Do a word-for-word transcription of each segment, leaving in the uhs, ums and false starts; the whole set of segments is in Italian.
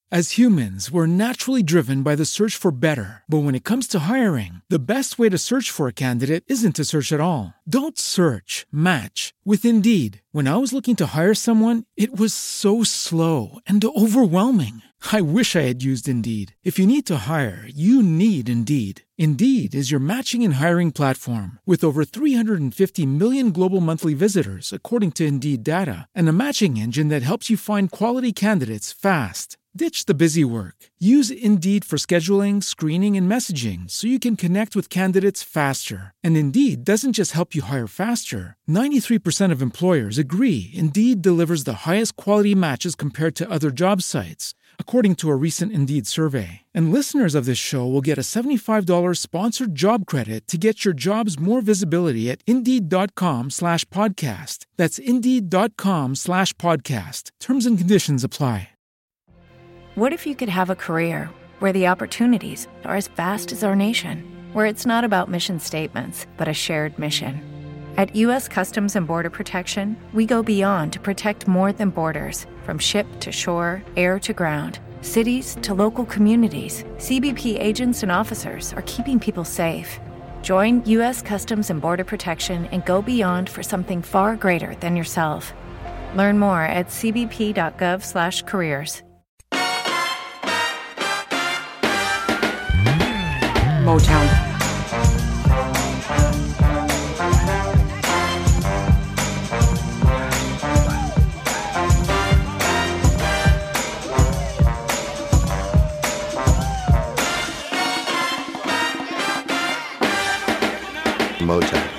As humans, we're naturally driven by the search for better. But when it comes to hiring, the best way to search for a candidate isn't to search at all. Don't search, match with Indeed. When I was looking to hire someone, it was so slow and overwhelming. I wish I had used Indeed. If you need to hire, you need Indeed. Indeed is your matching and hiring platform with over three hundred fifty million global monthly visitors, according to Indeed data, and a matching engine that helps you find quality candidates fast. Ditch the busy work. Use Indeed for scheduling, screening, and messaging so you can connect with candidates faster. And Indeed doesn't just help you hire faster. ninety-three percent of employers agree Indeed delivers the highest quality matches compared to other job sites, according to a recent Indeed survey. And listeners of this show will get a seventy-five dollars sponsored job credit to get your jobs more visibility at Indeed.com slash podcast. That's Indeed.com slash podcast. Terms and conditions apply. What if you could have a career where the opportunities are as vast as our nation, where it's not about mission statements, but a shared mission? At U S Customs and Border Protection, we go beyond to protect more than borders. From ship to shore, air to ground, cities to local communities, C B P agents and officers are keeping people safe. Join U S Customs and Border Protection and go beyond for something far greater than yourself. Learn more at cbp.gov slash careers. Motown. Motown.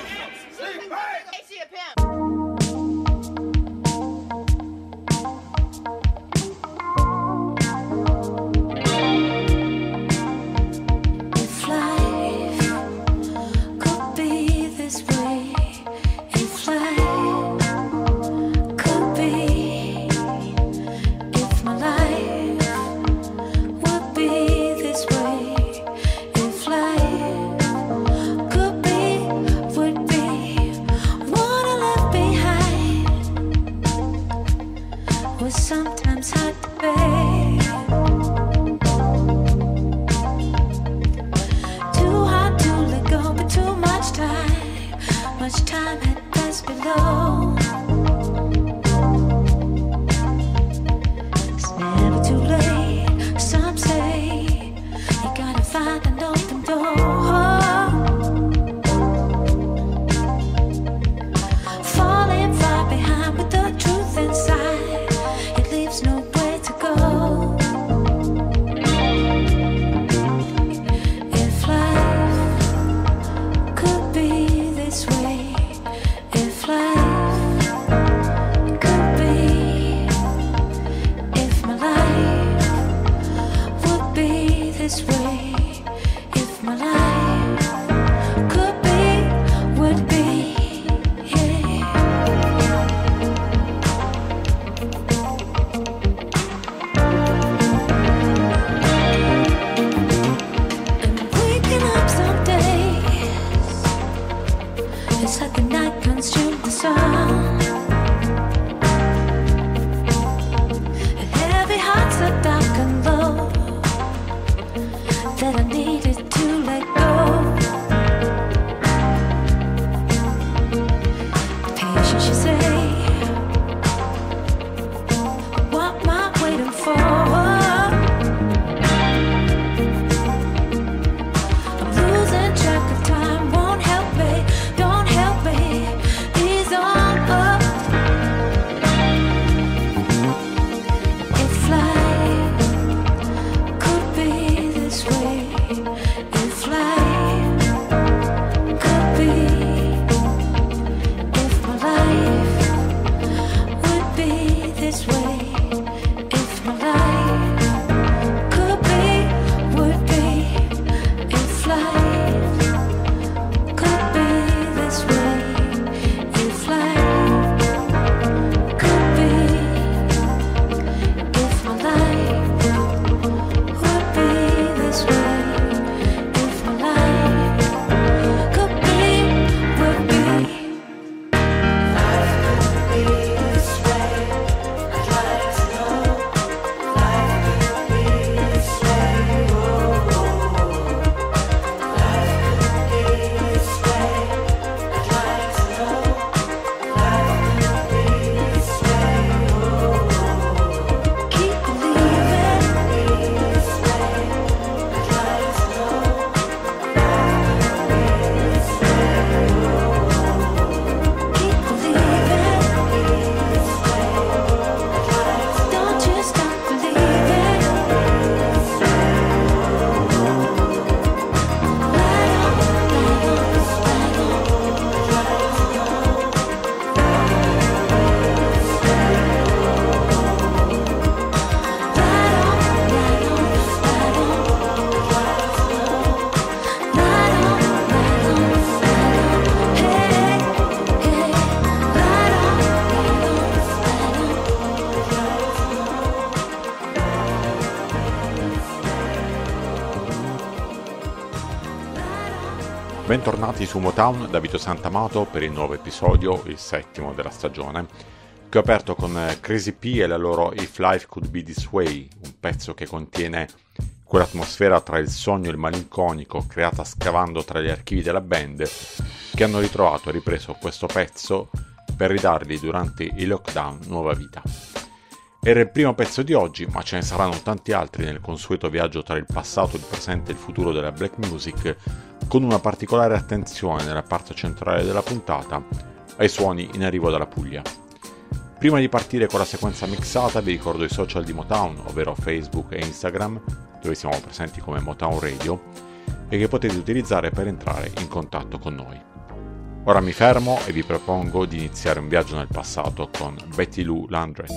Bentornati su Motown da Vito Santamato per il nuovo episodio, il settimo della stagione, che ho aperto con Crazy P e la loro If Life Could Be This Way, un pezzo che contiene quell'atmosfera tra il sogno e il malinconico creata scavando tra gli archivi della band, che hanno ritrovato e ripreso questo pezzo per ridargli durante il lockdown nuova vita. Era il primo pezzo di oggi, ma ce ne saranno tanti altri nel consueto viaggio tra il passato, il presente e il futuro della black music, con una particolare attenzione nella parte centrale della puntata ai suoni in arrivo dalla Puglia. Prima di partire con la sequenza mixata vi ricordo i social di Motown, ovvero Facebook e Instagram, dove siamo presenti come Motown Radio, e che potete utilizzare per entrare in contatto con noi. Ora mi fermo e vi propongo di iniziare un viaggio nel passato con Betty Lou Landreth.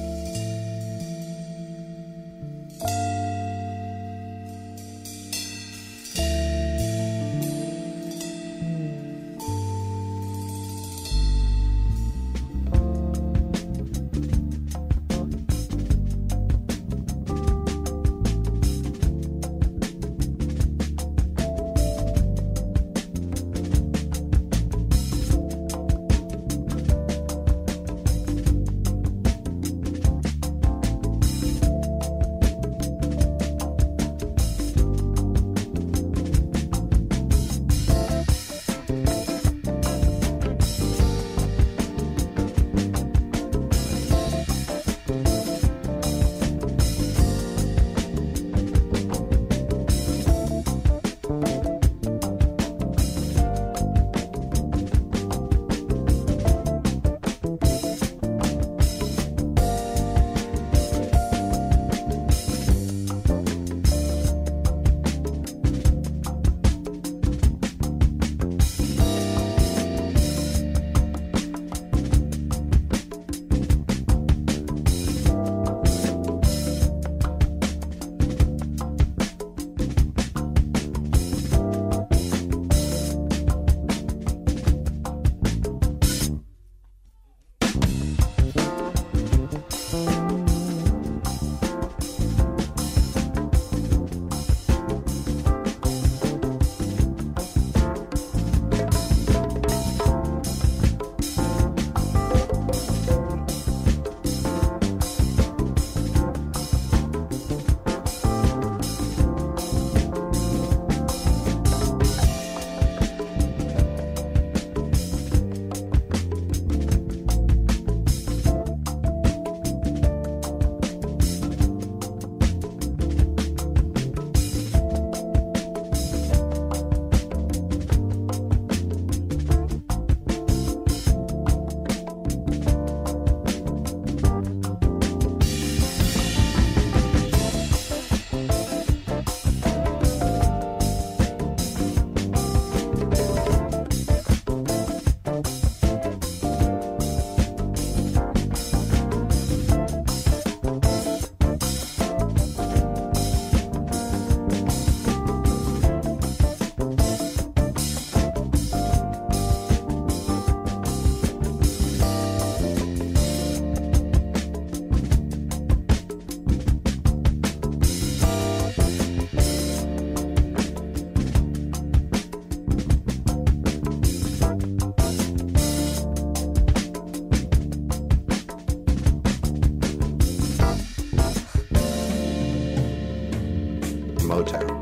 Motown.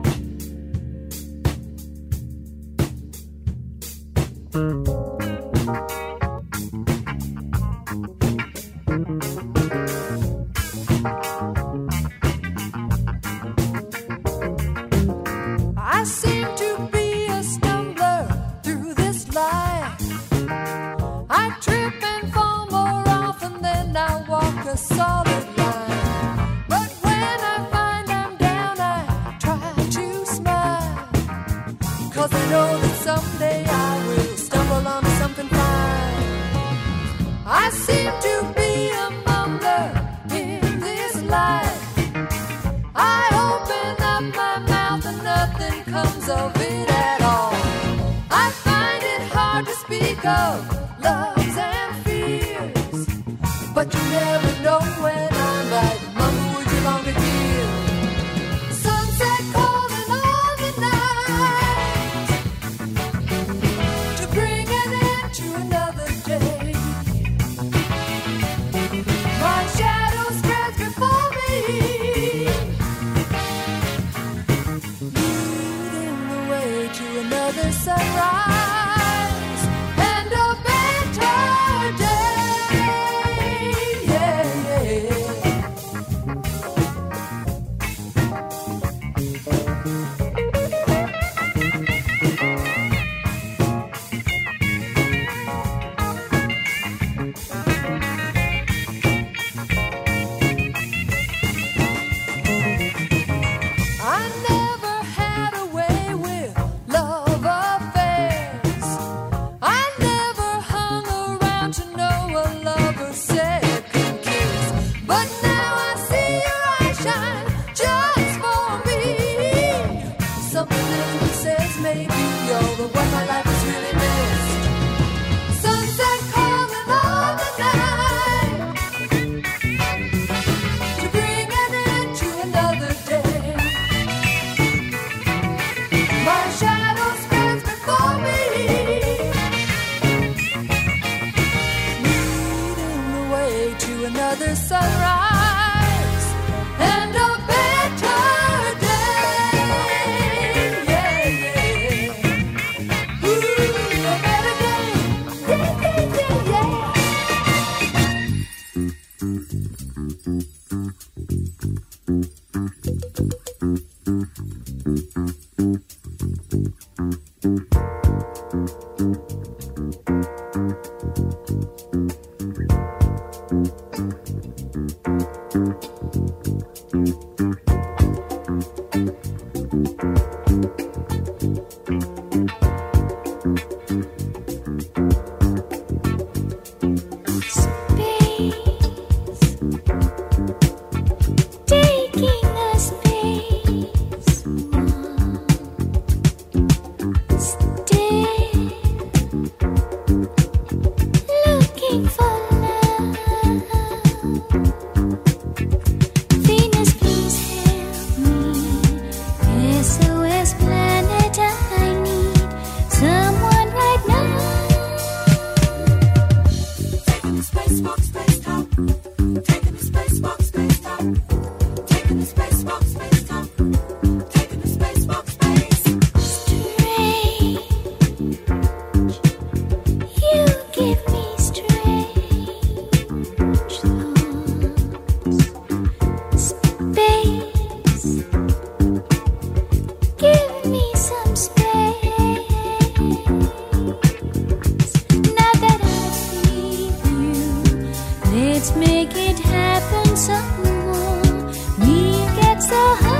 I seem to be a stumbler through this life. I trip and fall more often than I walk a solid line. But when I find I'm down, I try to smile, 'cause I know that someday I will stumble onto something fine. I seem to be a mumbler in this life. I open up my mouth and nothing comes of it at all. I find it hard to speak of loves and fears, but you never know when I'm like, Mama, would you long to hear? Sunset calling on the night. Let's make it happen some more. Me gets so high.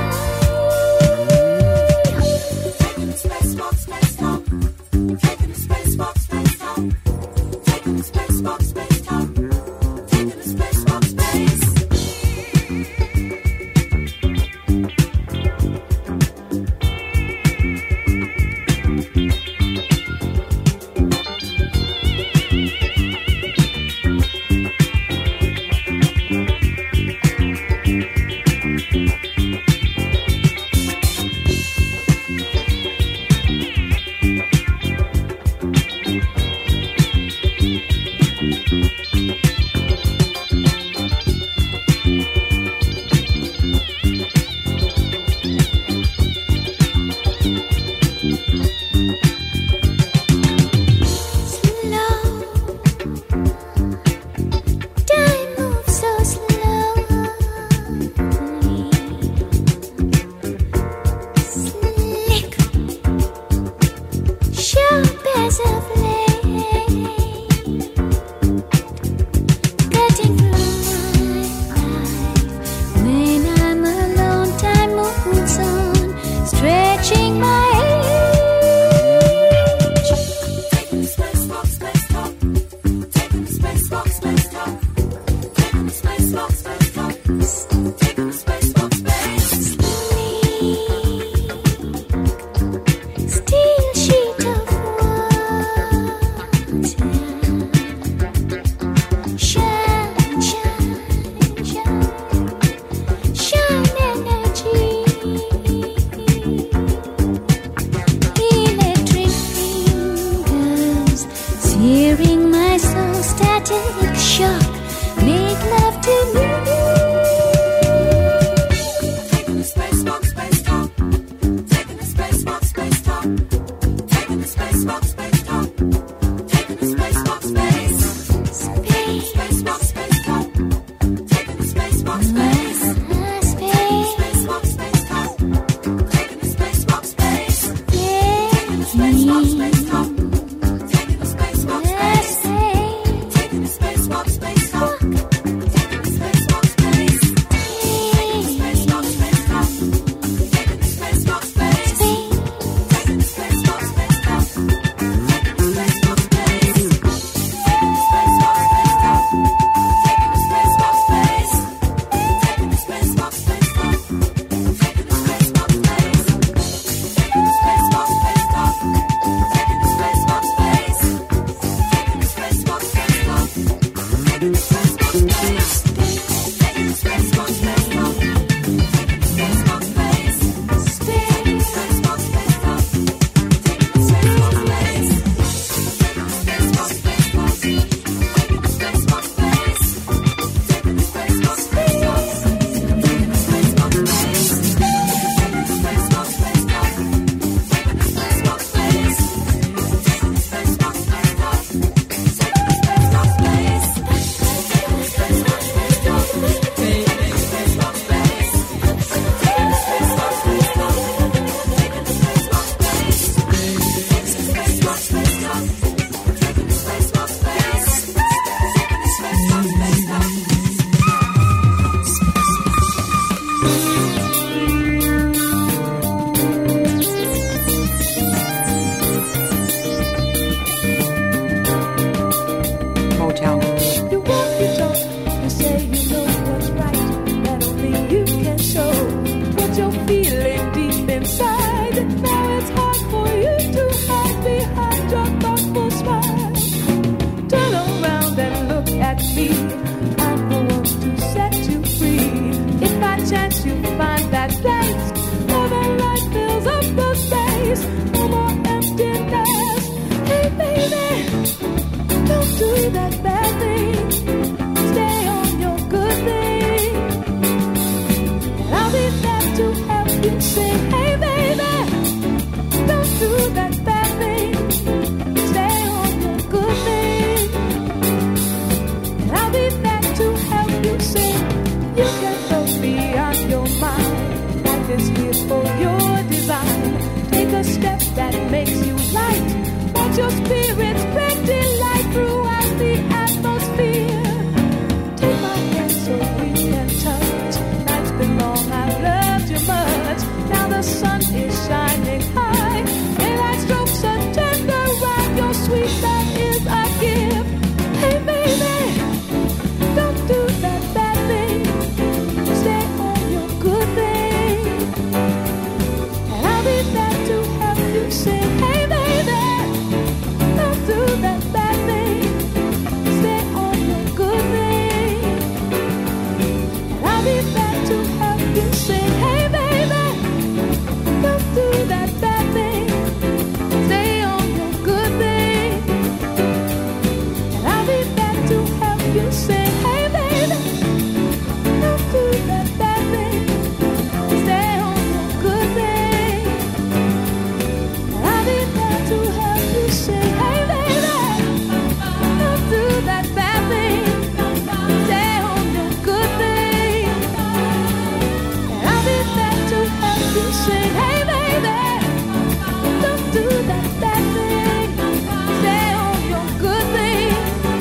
peace, no more emptiness. Hey baby, don't do that bad thing. Stay on your good thing, and I'll be there to help you sing. Hey baby, don't do that bad thing. Stay on your good thing, and I'll be there to help you sing. You can go beyond your mind. Life is here for your design. Take a step that makes you light. Watch your spirit spread delight throughout the atmosphere. Take my hand so we can touch. Night's been long, I've loved you much. Now the sun is shining high. Daylight strokes a tender ride. Your sweet love is a gift. Hey baby, don't do that bad thing. Stay on your good thing, and I'll be there to help you sing. Hey baby, don't do that bad thing. Stay on your good thing, and I'll be there to help you sing. Hey baby, don't do that bad thing. Stay on your good thing, and I'll be there to help you sing. Hey baby, don't do that bad thing. Stay on your good thing, and I'll be there to help you sing. Hey baby, don't do that bad thing. Stay on your good thing, and I'll be there to help you sing. Hey baby, don't do that bad thing. Stay on your good thing,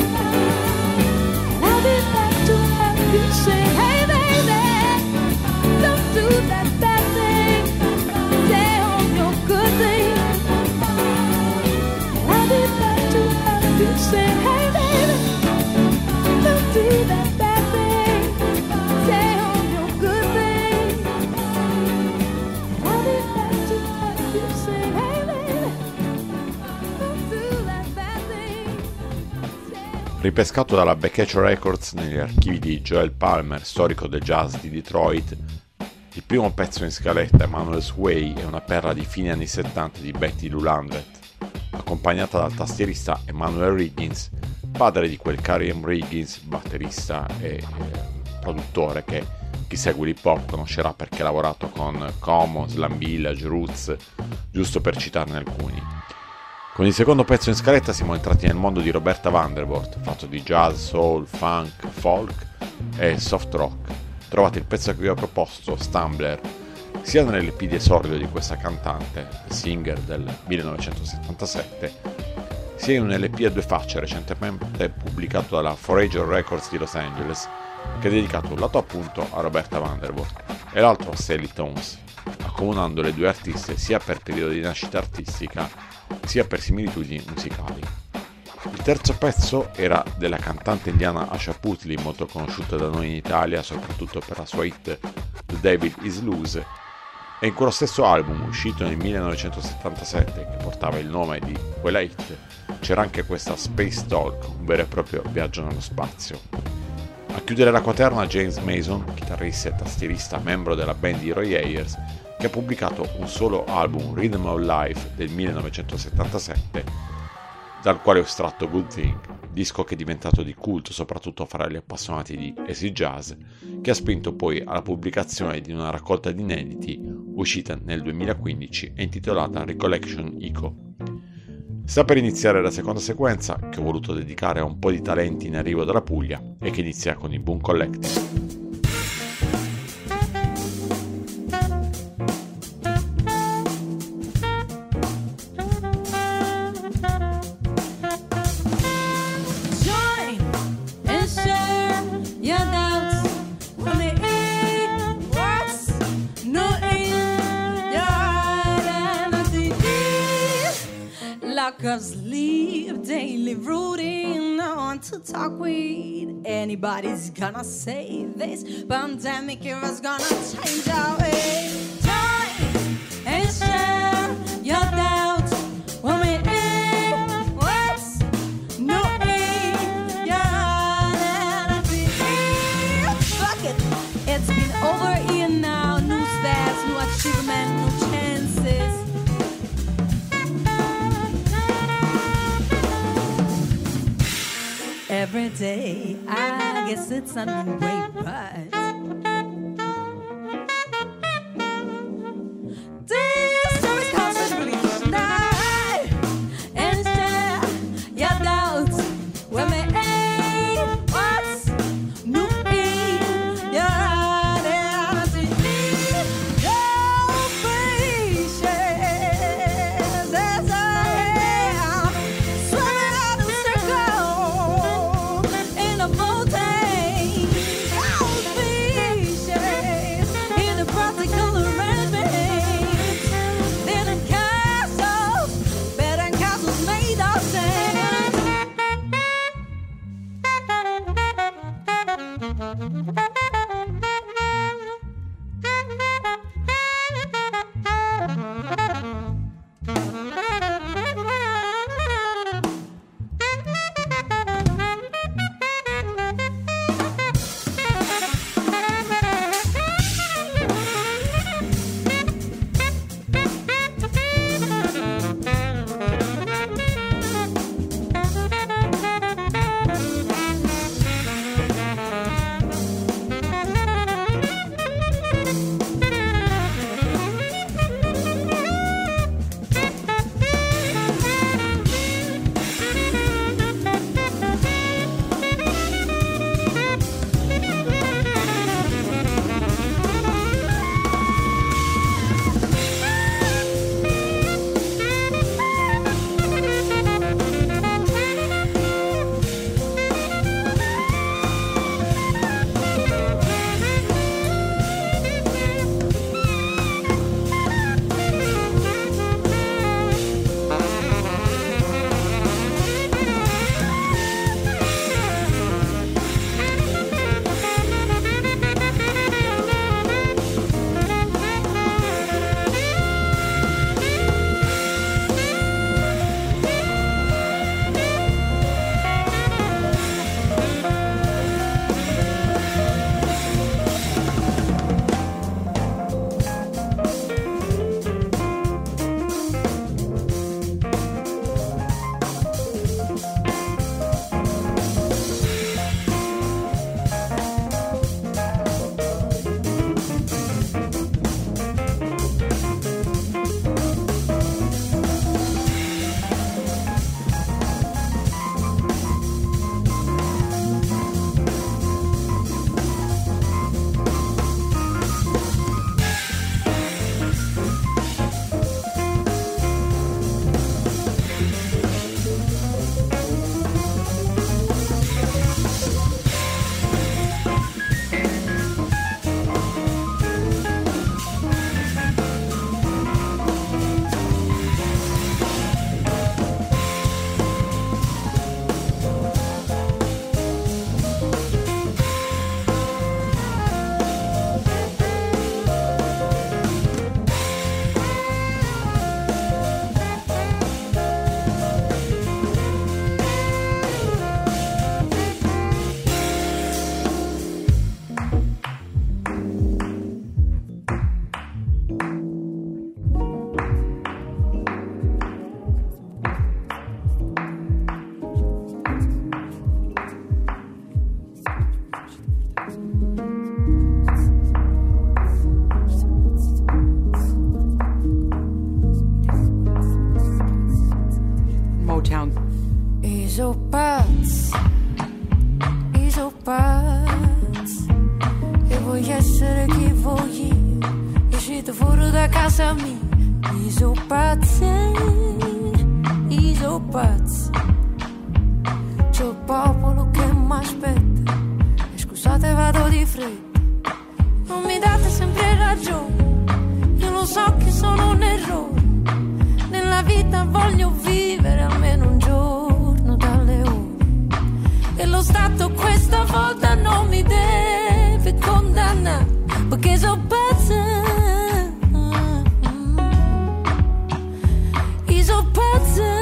and I'll be there to help you sing. Hey baby, don't do that bad thing. Stay on your good thing, and I'll be there to help you sing. Hey baby, don't do that bad thing. Stay on your good thing, and I'll be there to help you sing. Hey baby, don't do that bad thing. Stay on. Ripescato dalla Backcatch Records negli archivi di Joel Palmer, storico del jazz di Detroit, il primo pezzo in scaletta, Emmanuel's Way, è una perla di fine anni settanta di Betty Lou Landret, accompagnata dal tastierista Emmanuel Riggins, padre di quel Carey M. Riggins, batterista e eh, produttore che chi segue l'hip hop conoscerà perché ha lavorato con Como, Slam Village, Roots, giusto per citarne alcuni. Con il secondo pezzo in scaletta siamo entrati nel mondo di Roberta Vandervoort, fatto di jazz, soul, funk, folk e soft rock. Trovate il pezzo che vi ho proposto, Stumbler, sia nell'E P di esordio di questa cantante, Singer del millenovecentosettantasette, sia in un L P a due facce recentemente pubblicato dalla Forager Records di Los Angeles, che è dedicato un lato appunto a Roberta Vandervoort e l'altro a Sally Tones, accomunando le due artiste sia per periodo di nascita artistica sia per similitudini musicali. Il terzo pezzo era della cantante indiana Asha Puthli, molto conosciuta da noi in Italia soprattutto per la sua hit The Devil Is Loose, e in quello stesso album uscito nel millenovecentosettantasette che portava il nome di quella hit c'era anche questa Space Talk, un vero e proprio viaggio nello spazio. A chiudere la quaterna James Mason, chitarrista e tastierista membro della band di Roy Ayers, che ha pubblicato un solo album, Rhythm of Life, del millenovecentosettantasette, dal quale ho estratto Good Thing, disco che è diventato di culto soprattutto fra gli appassionati di acid jazz, che ha spinto poi alla pubblicazione di una raccolta di inediti uscita nel duemilaquindici e intitolata Recollection Eco. Sta per iniziare la seconda sequenza, che ho voluto dedicare a un po' di talenti in arrivo dalla Puglia e che inizia con i Boom Collective. Cause leave daily rooting on to talk weed. Anybody's gonna say this pandemic era's gonna change our way. Time and share your doubts when we in words. No aim, your identity. Fuck it, it's been over a year now. New stats, new achievement, new chances. day. I guess it's underway, but this story's called Celebration Night, and share your doubts with me. What's new in your identity? Your patience as I am swimming out the circle in a mountain. Your patience in a practical arrangement. Then in castles, better than castles made of sand. Isopaz, Isopaz, e voglio essere chi voglio, uscito fuori da casa mia. Isopaz, Isopaz, c'è il popolo che mi aspetta, e scusate vado di fretta, non mi date sempre ragione, io lo so che sono un errore, nella vita voglio vivere almeno un giorno dalle ore, e lo Stato questa volta non mi deve condannare, perché so pazza, io so pazza,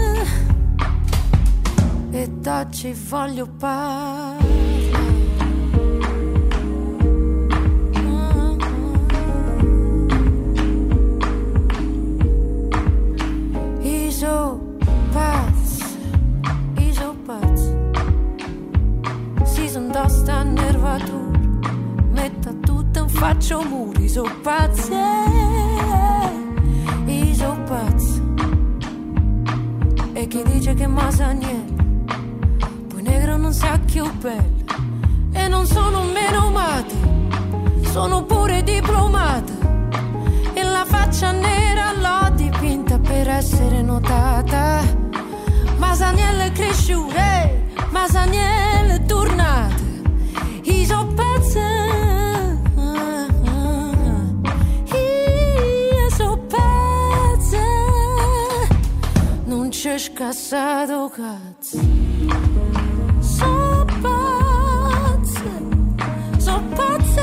e da ci voglio parlare. Isopaz, Isopaz, dice che ma sa niente, poi negro non sa più bello. E non sono meno mate, sono pure diplomata, e la faccia nera l'ho dipinta per essere notata. Masaniello è cresciuto, eh, Masaniello è tornato, io so pazza, io so pazza, non c'è scassato cazzo, so pazza, so pazza.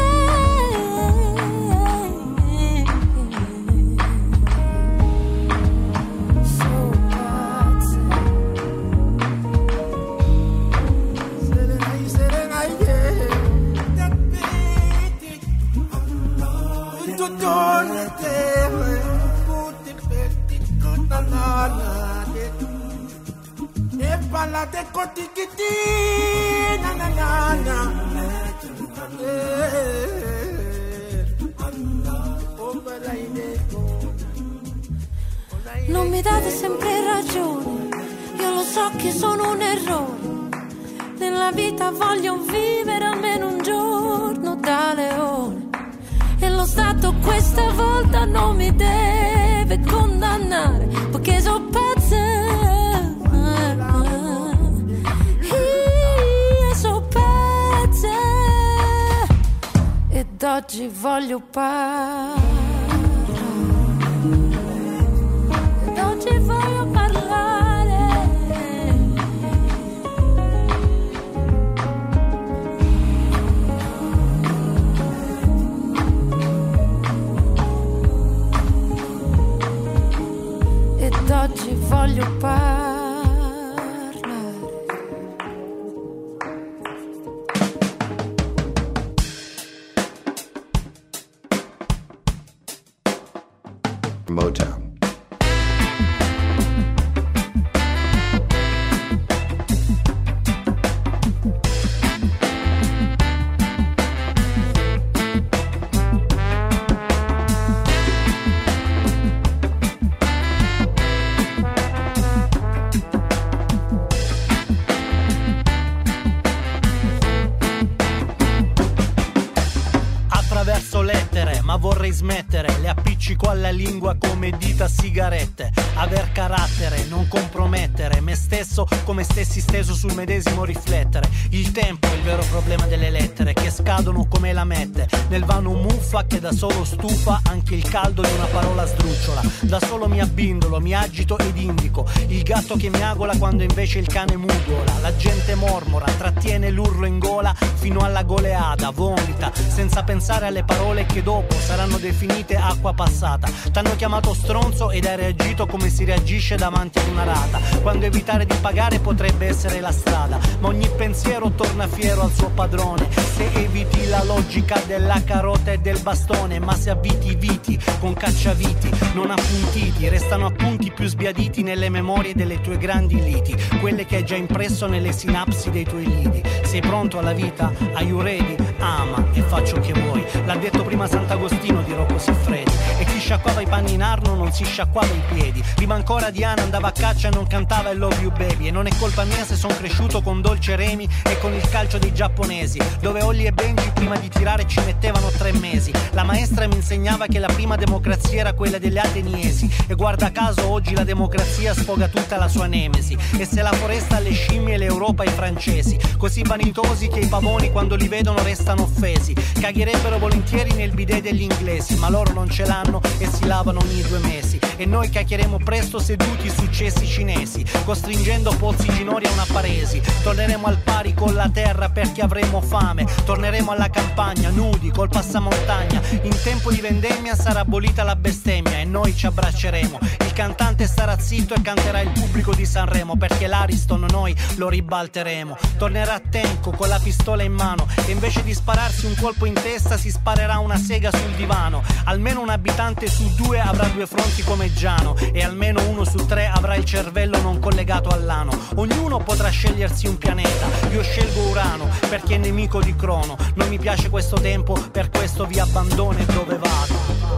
Non mi date sempre ragione, io lo so che sono un errore. Nella vita voglio vivere almeno un giorno da leone, e lo Stato questa volta non mi deve condannare, perché so pazza, io so pazza, ed oggi voglio parlare, ed oggi voglio parlare. Ed oggi voglio parlare. Motown. Attraverso lettere, ma vorrei smettere, le appiccico alla lingua come dita sigarette. Aver carattere, non compromettere me stesso come stessi steso sul medesimo riflettere. Il tempo è il vero problema delle lettere, che scadono come lamette nel vano muffa che da solo stufa anche il caldo di una parola sdrucciola. Da solo mi abbindolo, mi agito ed indico il gatto che miagola quando invece il cane mugola. La gente mormora, trattiene l'urlo in gola fino alla goleada, vomita senza pensare alle parole che dopo saranno definite acqua passata. T'hanno chiamato stronzo ed hai reagito come si reagisce davanti ad una rata, quando evitare di pagare potrebbe essere la strada, ma ogni pensiero torna fiero al suo padrone. Se eviti la logica della carota e del bastone, ma se avviti viti con cacciaviti non appuntiti, restano appunti più sbiaditi nelle memorie delle tue grandi liti, quelle che hai già impresso nelle sinapsi dei tuoi lidi. Sei pronto alla vita? Are you ready? Ama e faccio che vuoi, l'ha detto prima Sant'Agostino di Rocco Siffredi. E chi sciacquava i panni in Arno non si sciacquava i piedi. Prima ancora Diana andava a caccia e non cantava I love you baby. E non è colpa mia se son cresciuto con Dolce Remi e con il calcio dei giapponesi, dove Olli e Benji prima di tirare ci mettevano tre mesi. La maestra mi insegnava che la prima democrazia era quella delle ateniesi, e guarda caso oggi la democrazia sfoga tutta la sua nemesi. E se la foresta alle scimmie e l'Europa ai francesi, così vanitosi che i pavoni quando li vedono restano offesi. Cagherebbero volentieri nel bidet degli inglesi, ma loro non ce l'hanno e si lavano ogni due mesi. E noi cacchieremo presto seduti su cessi cinesi, costringendo pozzi ginori a una paresi. Torneremo al pari con la terra perché avremo fame. Torneremo alla campagna nudi col passamontagna. In tempo di vendemmia sarà abolita la bestemmia e noi ci abbracceremo. Il cantante starà zitto e canterà il pubblico di Sanremo, perché l'Ariston noi lo ribalteremo. Tornerà Tenco con la pistola in mano e invece di spararsi un colpo in testa si sparerà una sega sul divano. Almeno un abitante su due avrà due fronti come Giano, e almeno uno su tre avrà il cervello non collegato all'ano. Ognuno potrà scegliersi un pianeta, io scelgo Urano perché è nemico di Crono. Non mi piace questo tempo, per questo vi abbandono e dove vado.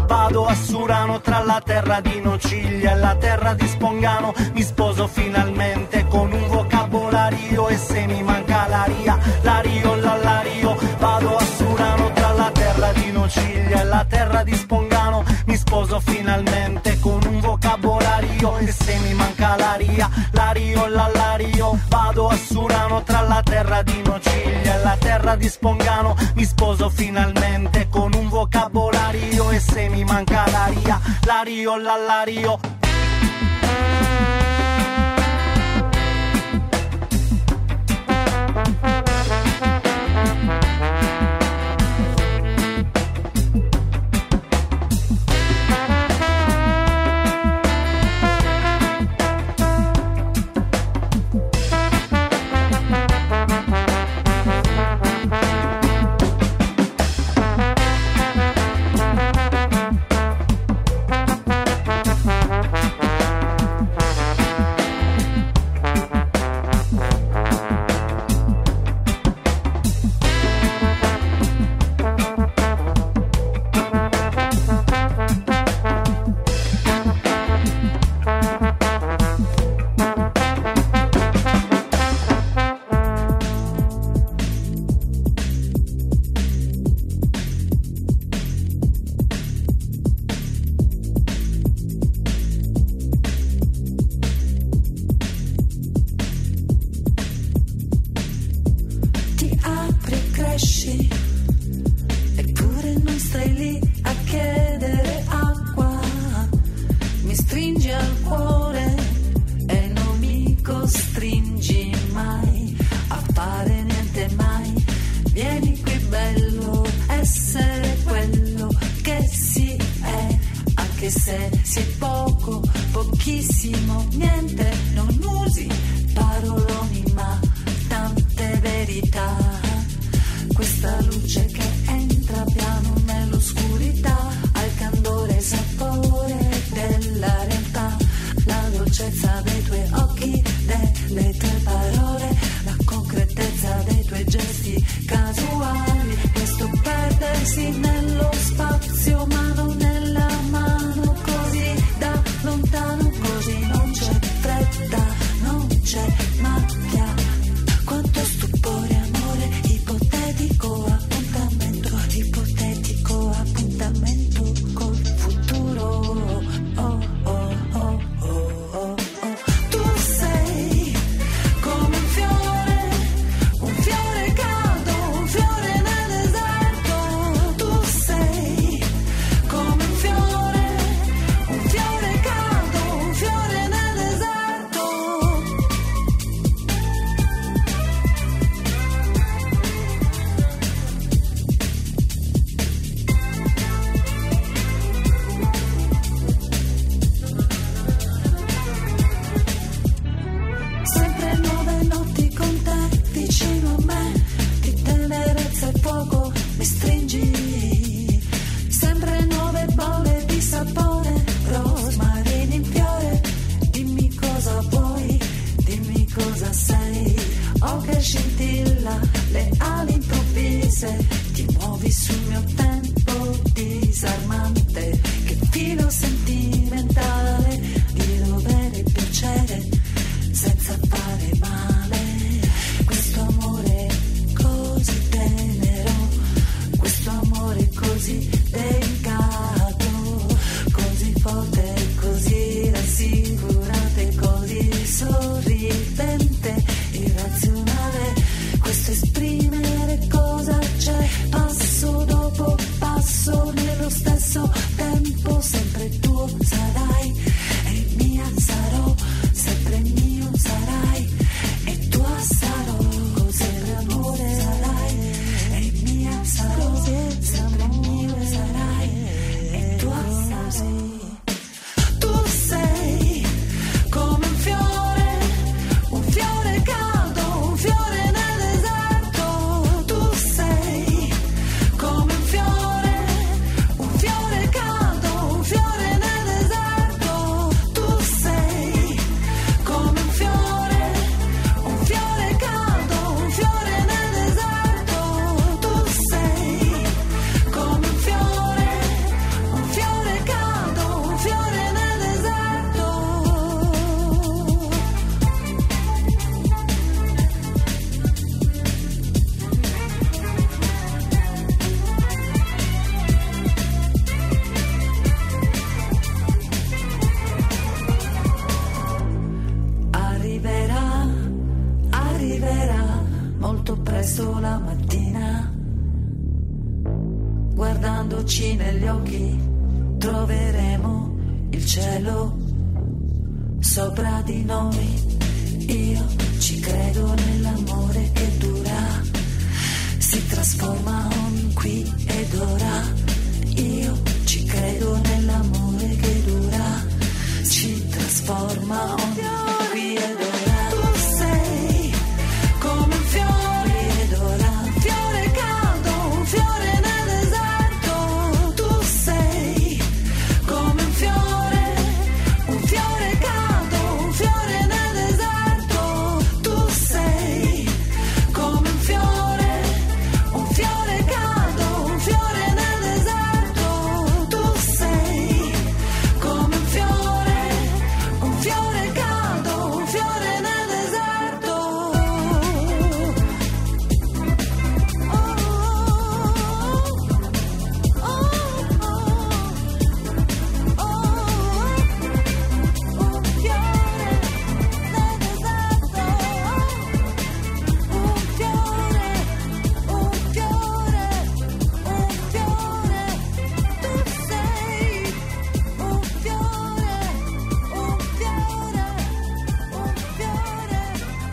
vado a Surano tra la terra di Nociglia e la terra di Spongano, mi sposo finalmente con un vocabolario e se mi manca l'aria, l'ario, l'allario, vado a Surano tra la terra di Nociglia e la terra di Spongano, mi sposo finalmente con un vocabolario e se mi manca l'aria, l'ario, l'allario, vado a Surano tra la terra di Nociglia e la terra di Spongano, mi sposo finalmente con un vocabolario e se mi manca l'aria, l'ario, l'allario. Quanto stupore, amore ipotetico, appuntamento. presto la mattina, guardandoci negli occhi, troveremo il cielo sopra di noi. Io ci credo nell'amore che dura, si trasforma ogni qui ed ora. Io ci credo nell'amore che dura, ci trasforma ogni qui ed ora. Tu sei come un fiore ed ora, un fiore caldo, un fiore nel deserto. Tu sei come un fiore, un fiore caldo, un fiore nel deserto. Tu sei come un fiore, un fiore caldo, un fiore nel deserto. Tu sei come un fiore, un fiore caldo, un fiore nel deserto. Oh, oh, oh, oh, oh, un fiore nel deserto. Un fiore, un fiore, un fiore. Tu sei un fiore, un fiore, un fiore.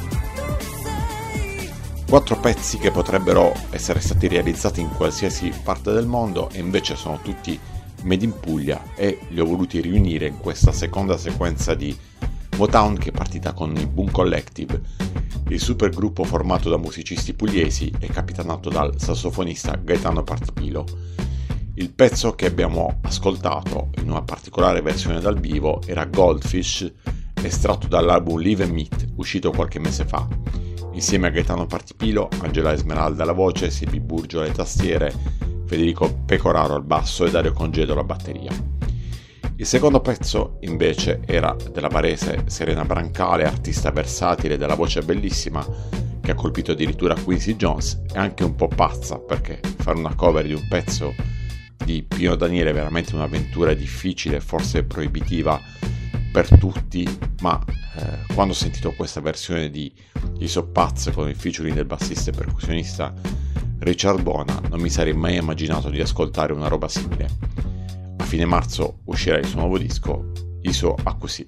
Tu sei. Quattro pezzi che potrebbero essere stati realizzati in qualsiasi parte del mondo e invece sono tutti made in Puglia, e li ho voluti riunire in questa seconda sequenza di Motown che è partita con il Boom Collective, il supergruppo formato da musicisti pugliesi e capitanato dal sassofonista Gaetano Partipilo. Il pezzo che abbiamo ascoltato in una particolare versione dal vivo era Goldfish, estratto dall'album Live and Meet, uscito qualche mese fa. Insieme a Gaetano Partipilo, Angela Esmeralda alla voce, Silvi Burgio alle tastiere, Federico Pecoraro al basso e Dario Congedo alla batteria. Il secondo pezzo invece era della barese Serena Brancale, artista versatile dalla voce bellissima che ha colpito addirittura Quincy Jones, e anche un po' pazza, perché fare una cover di un pezzo di Pino Daniele è veramente un'avventura difficile, forse proibitiva per tutti, ma eh, quando ho sentito questa versione di I Soppaz con il featuring del bassista e percussionista Richard Bona non mi sarei mai immaginato di ascoltare una roba simile. A fine marzo uscirà il suo nuovo disco, Iso Acusì.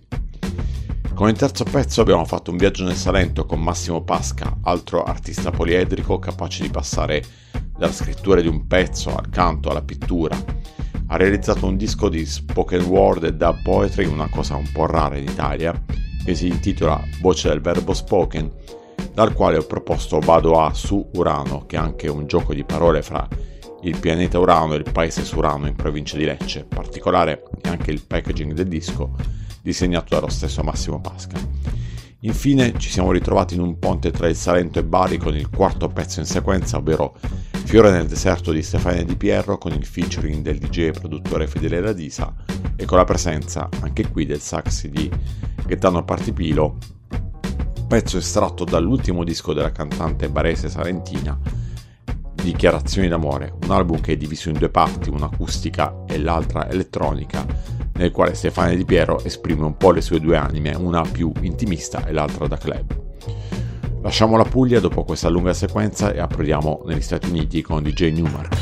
Con il terzo pezzo abbiamo fatto un viaggio nel Salento con Massimo Pasca, altro artista poliedrico capace di passare dalla scrittura di un pezzo al canto alla pittura. Ha realizzato un disco di spoken word e dub poetry, una cosa un po' rara in Italia, che si intitola Voce del verbo spoken, dal quale ho proposto Vado a su Urano, che è anche un gioco di parole fra il pianeta Urano e il paese Surano in provincia di Lecce. Particolare è anche il packaging del disco, disegnato dallo stesso Massimo Pasca. Infine ci siamo ritrovati in un ponte tra il Salento e Bari con il quarto pezzo in sequenza, ovvero Fiore nel deserto di Stefania Di Pierro, con il featuring del D J e produttore Fedele Radisa e con la presenza anche qui del sax di Gaetano Partipilo, pezzo estratto dall'ultimo disco della cantante barese salentina, Dichiarazioni d'amore, un album che è diviso in due parti, una acustica e l'altra elettronica, nel quale Stefania Di Piero esprime un po' le sue due anime, una più intimista e l'altra da club. Lasciamo la Puglia dopo questa lunga sequenza e approdiamo negli Stati Uniti con D J Newmark.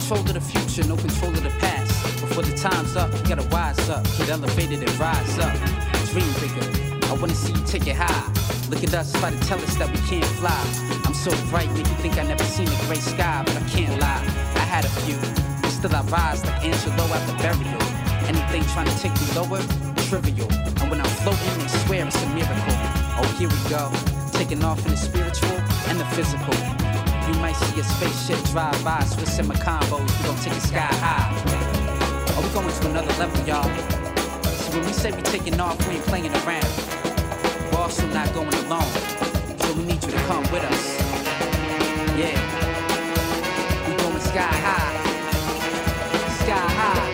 control of the future, no control of the past. Before the time's up, you gotta wise up, get elevated and rise up. Dream bigger, I wanna see you take it high. Look at us, try to tell us that we can't fly. I'm so bright, make you think I never seen a gray sky, but I can't lie. I had a few, but still I rise like Angelo after burial. Anything trying to take me lower, trivial. And when I'm floating, they swear it's a miracle. Oh, here we go, taking off in the spiritual and the physical. You might see a spaceship drive by, Swiss and my combos, we gon' take it sky high. Oh, we going to another level, y'all. So when we say we taking off, we ain't playing around. We're also not going alone, so we need you to come with us. Yeah, we going sky high, sky high.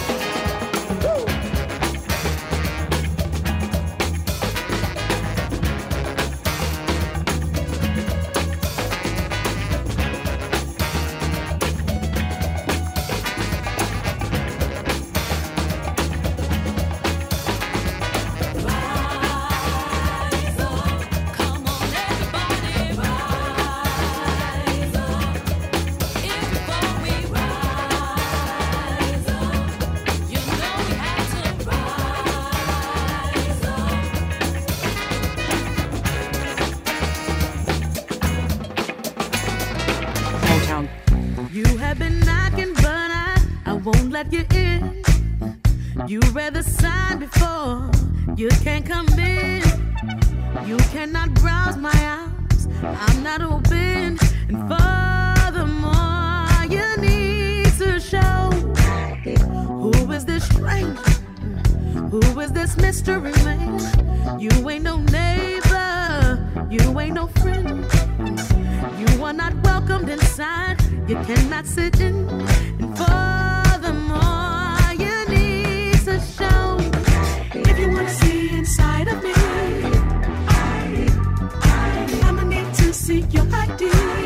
You in, you read the sign before you can't come in. You cannot browse my house, I'm not open. And furthermore, you need to show who is this stranger, who is this mystery man. You ain't no neighbor, you ain't no friend. You are not welcomed inside, you cannot sit in. And furthermore, you need to show. If you wanna see inside of me, I, I, I'ma need to see your I D.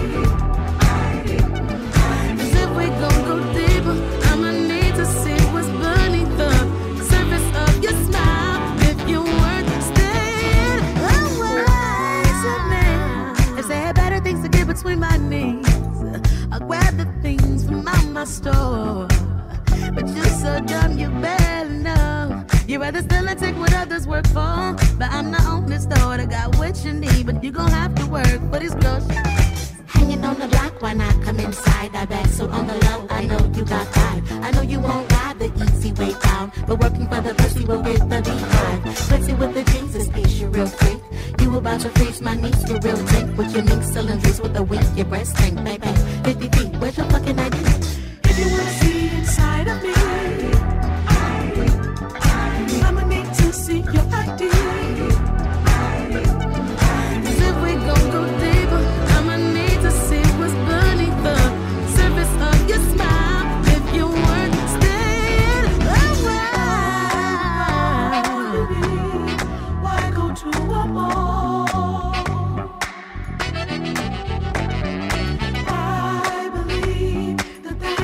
Cause if we gon' go deeper, I'ma need to see what's beneath the surface of your smile. If you weren't staying away, so man, if they had better things to get between my knees, I'll grab the things from out my store. But you're so dumb, you better know. You rather still and take what others work for. But I'm the only store that got what you need. But you gon' have to work for these groceries. Hanging on the block, why not come inside? I bet so on the low, I know you got vibe. I know you won't ride the easy way down, but working for the pussy will get the behind. Pussy with the Jesus piece, you real freak. You about to freeze my knees, you real drink. With your mink cylinders with a wink, your breast stink, baby. fifty feet, where's your fucking I D? If you wanna see inside of me, I, I, I'ma need to see your I D. Cause if we gon' go deeper, I'ma need to see what's beneath the surface of your smile. If you weren't staying away, why go to a mall? I believe that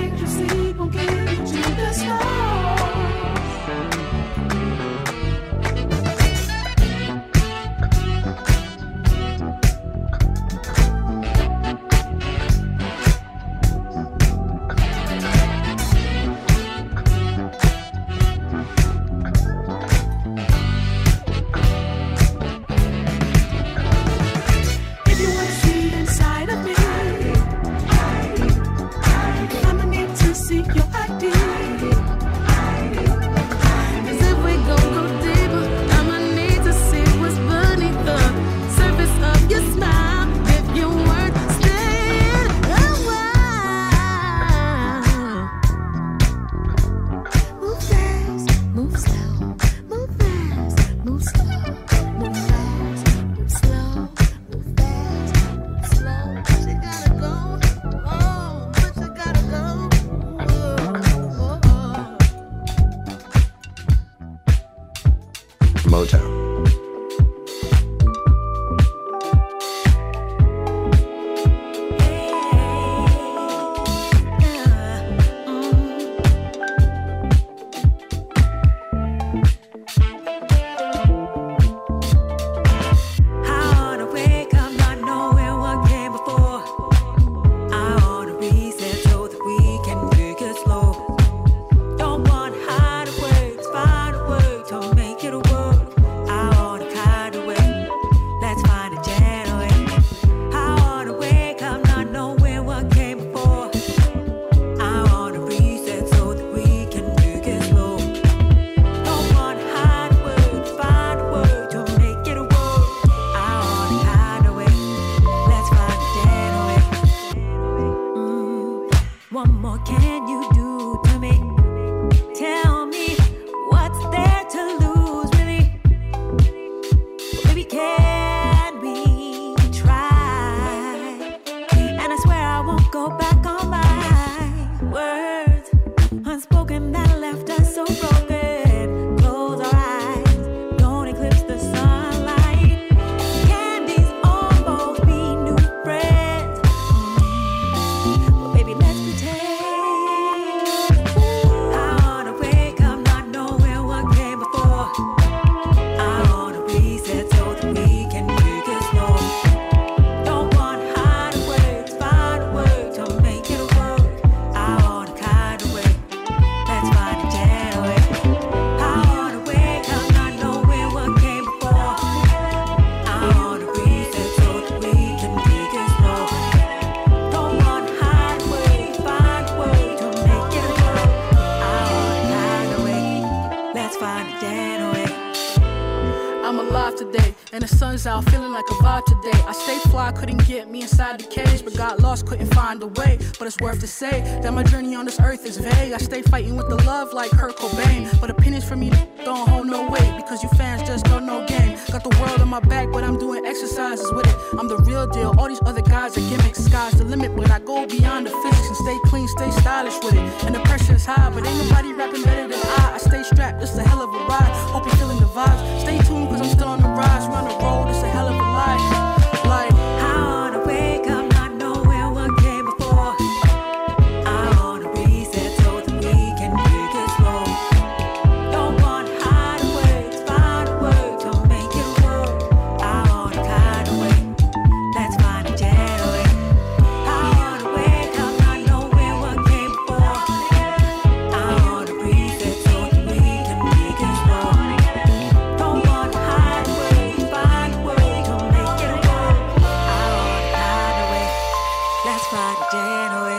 and the sun's out, feeling like a vibe today. I stay fly, couldn't get me inside the cage, but got lost, couldn't find a way. But it's worth to say that my journey on this earth is vague. I stay fighting with the love like Kurt Cobain, but opinions from me don't hold no weight, because you fans just don't know game. Got the world on my back, but I'm doing exercises with it. I'm the real deal, all these other guys are gimmicks. Sky's the limit, but I go beyond the physics and stay clean, stay stylish with it. And the pressure is high, but ain't nobody rapping better than I. I stay strapped, it's a hell of a ride. Hope you're feeling the vibes. Stay tuned, cause I'm still on the rise. We're on the road, it's a hell of a life. Like, I wanna wake up, not knowing what came before. I wanna reset so that we can take it slow. Don't want to hide away, to find a way to make it work. I wanna kind of way, let's find a getaway. I wanna wake up, not knowing what came before. I wanna reset so that we can make it slow. Don't want to hide away, to find a way to make it work. I wanna kind of way, let's find a getaway.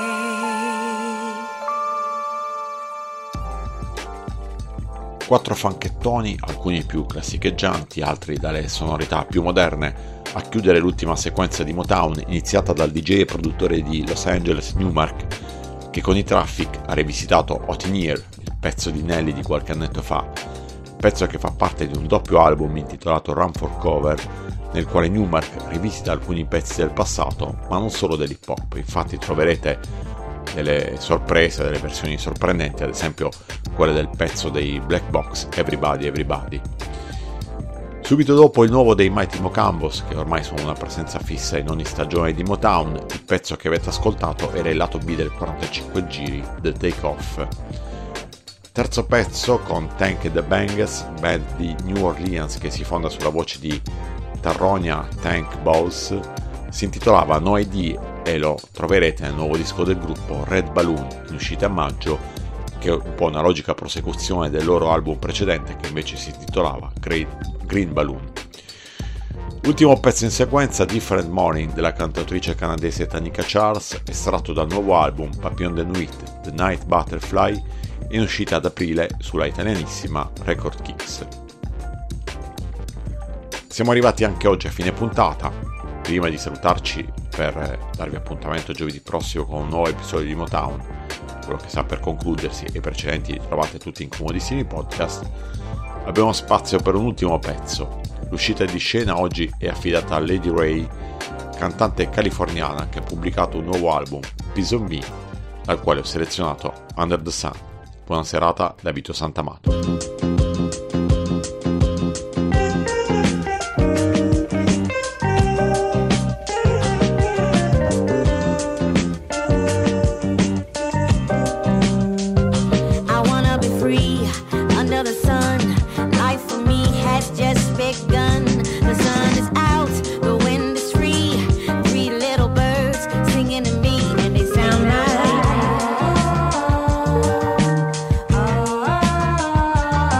Quattro fanchettoni, alcuni più classicheggianti, altri dalle sonorità più moderne, a chiudere l'ultima sequenza di Motown iniziata dal D J e produttore di Los Angeles Newmark, che con i Traffic ha rivisitato Hot in Here, il pezzo di Nelly di qualche annetto fa, pezzo che fa parte di un doppio album intitolato Run for Cover, nel quale Newmark rivisita alcuni pezzi del passato, ma non solo dell'hip hop. Infatti troverete delle sorprese, delle versioni sorprendenti, ad esempio quelle del pezzo dei Black Box, Everybody Everybody. Subito dopo il nuovo dei Mighty Mocambos, che ormai sono una presenza fissa in ogni stagione di Motown, il pezzo che avete ascoltato era il lato B del quarantacinque giri, The Take Off. Terzo pezzo con Tank and the Bangers, band di New Orleans che si fonda sulla voce di Tarronia Tank Bowles, si intitolava No I D e lo troverete nel nuovo disco del gruppo Red Balloon, in uscita a maggio, che è un po' una logica prosecuzione del loro album precedente che invece si intitolava Green Balloon. L'ultimo pezzo in sequenza, Different Morning, della cantautrice canadese Tanika Charles, estratto dal nuovo album Papillon de Nuit, The Night Butterfly, in uscita ad aprile sulla italianissima Record Kicks. Siamo arrivati anche oggi a fine puntata. Prima di salutarci per darvi appuntamento giovedì prossimo con un nuovo episodio di Motown, quello che sta per concludersi e i precedenti li trovate tutti in comodissimi podcast, abbiamo spazio per un ultimo pezzo. L'uscita di scena oggi è affidata a Lady Ray, cantante californiana che ha pubblicato un nuovo album, Piece of Me, dal quale ho selezionato Under the Sun. Buona serata da Vito Santamato. Oh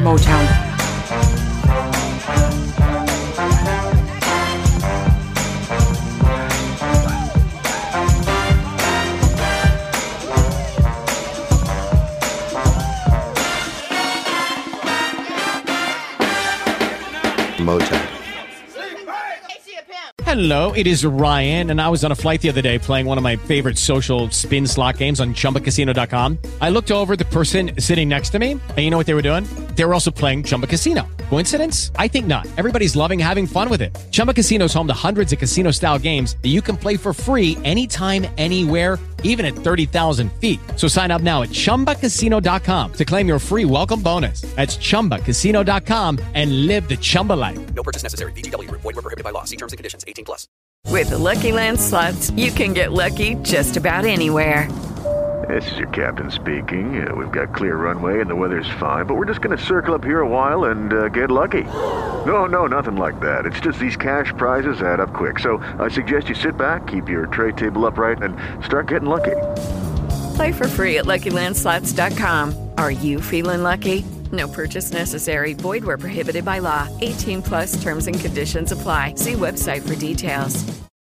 Motown. Motown. Hello, it is Ryan, and I was on a flight the other day playing one of my favorite social spin slot games on Chumba Casino dot com. I looked over at the person sitting next to me, and you know what they were doing? They were also playing Chumba Casino. Coincidence? I think not. Everybody's loving having fun with it. Chumba Casino is home to hundreds of casino-style games that you can play for free anytime, anywhere, even at thirty thousand feet. So sign up now at Chumba Casino dot com to claim your free welcome bonus. That's Chumba Casino dot com and live the Chumba life. No purchase necessary. V G W. Void where prohibited by law. See terms and conditions. eighteen plus. With the Lucky Land Slots, you can get lucky just about anywhere. This is your captain speaking. Uh, we've got clear runway and the weather's fine, but we're just going to circle up here a while and uh, get lucky. No, no, nothing like that. It's just these cash prizes add up quick. So I suggest you sit back, keep your tray table upright, and start getting lucky. Play for free at Lucky Land Slots dot com. Are you feeling lucky? No purchase necessary. Void where prohibited by law. eighteen plus terms and conditions apply. See website for details.